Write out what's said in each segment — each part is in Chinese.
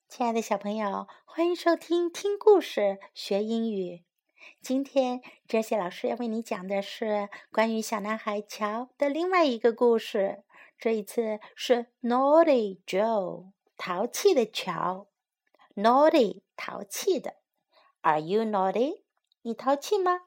亲爱的小朋友，欢迎收听听故事学英语。今天这些老师要为你讲的是关于小男孩乔的另外一个故事。这一次是 Naughty Joe， 淘气的乔。Naughty， 淘气的。Are you naughty？ 你淘气吗？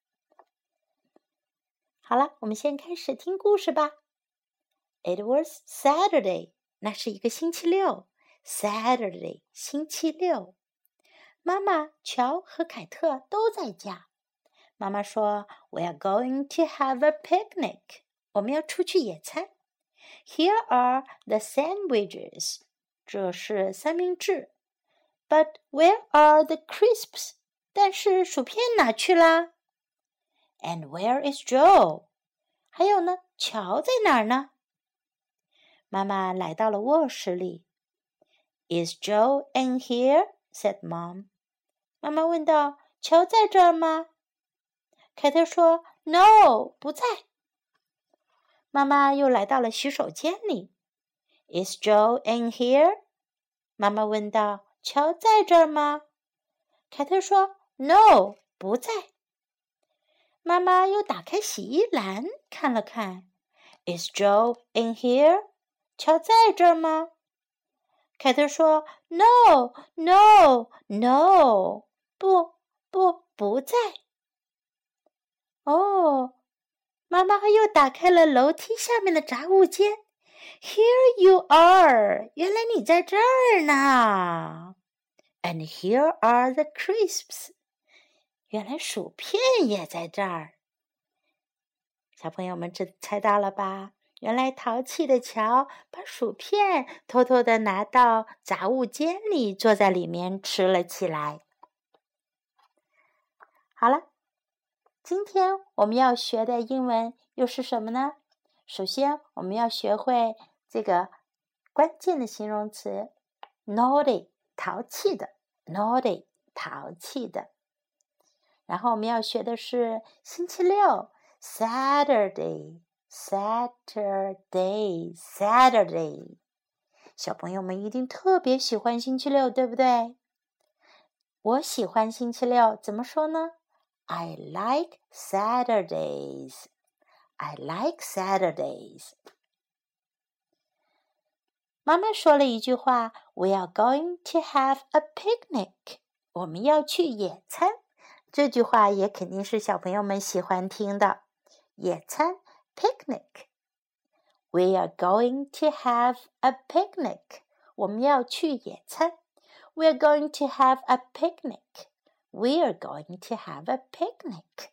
好了，我们先开始听故事吧。It was Saturday， 那是一个星期六。Saturday， 星期六。妈妈、乔和凯特都在家。妈妈说 We are going to have a picnic， 我们要出去野餐。Here are the sandwiches， 这是三明治。But where are the crisps？ 但是薯片哪去啦？ And where is Joe？ 还有呢，乔在哪儿呢？妈妈来到了卧室里。Is Joe in here? said Mom. 妈妈问道：“乔在这儿吗？”凯特说 ：“No， 不在。”妈妈又来到了洗手间里。Is Joe in here? 妈妈问道：“乔在这儿吗？”凯特说 ：“No， 不在。”妈妈又打开洗衣篮看了看。Is Joe in here? 乔在这儿吗？凯特说 ：“No, no, no， 不在。”哦，妈妈又打开了楼梯下面的杂物间。Here you are， 原来你在这儿呢。And here are the crisps， 原来薯片也在这儿。小朋友们猜到了吧？原来淘气的乔把薯片偷偷地拿到杂物间里，坐在里面吃了起来。好了，今天我们要学的英文又是什么呢？首先我们要学会这个关键的形容词 naughty， 淘气的 naughty， 淘气的。然后我们要学的是星期六 Saturday， 小朋友们一定特别喜欢星期六，对不对？我喜欢星期六，怎么说呢？ I like Saturdays. I like Saturdays. 妈妈说了一句话 We are going to have a picnic. 我们要去野餐。这句话也肯定是小朋友们喜欢听的。野餐 picnic。 We are going to have a picnic. 我们要去野餐。We are going to have a picnic. We are going to have a picnic.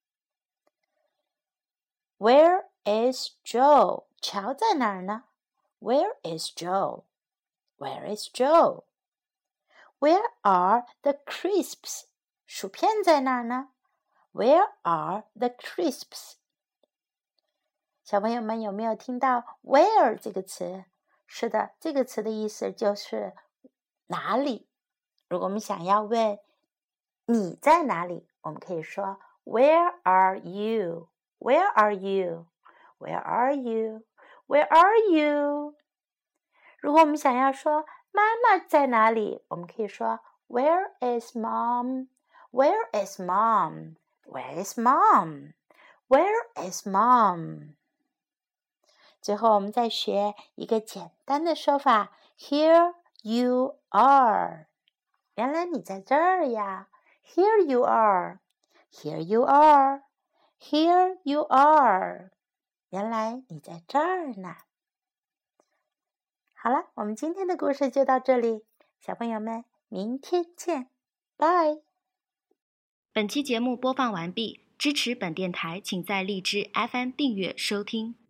Where is Joe? 乔在哪儿呢？ Where is Joe? Where is Joe? Where are the crisps? 薯片在哪儿呢？ Where are the crisps? 小朋友们有没有听到 where 这个词？是的，这个词的意思就是哪里。如果我们想要问你在哪里，我们可以说 Where are you? Where are you? Where are you? Where are you? 如果我们想要说妈妈在哪里，我们可以说 Where is mom? Where is mom? Where is mom? Where is mom? 最后我们再学一个简单的说法 Here you are. 原来你在这儿呀。Here you are. Here you are. Here you are. 原来你在这儿呢。好了，我们今天的故事就到这里，小朋友们，明天见，拜。 本期节目播放完毕，支持本电台，请在荔枝 FM 订阅收听。